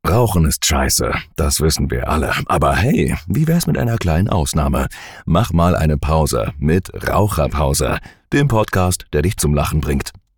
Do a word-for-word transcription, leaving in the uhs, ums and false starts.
Rauchen ist scheiße, das wissen wir alle. Aber hey, wie wär's mit einer kleinen Ausnahme? Mach mal eine Pause mit Raucherpause, dem Podcast, der dich zum Lachen bringt.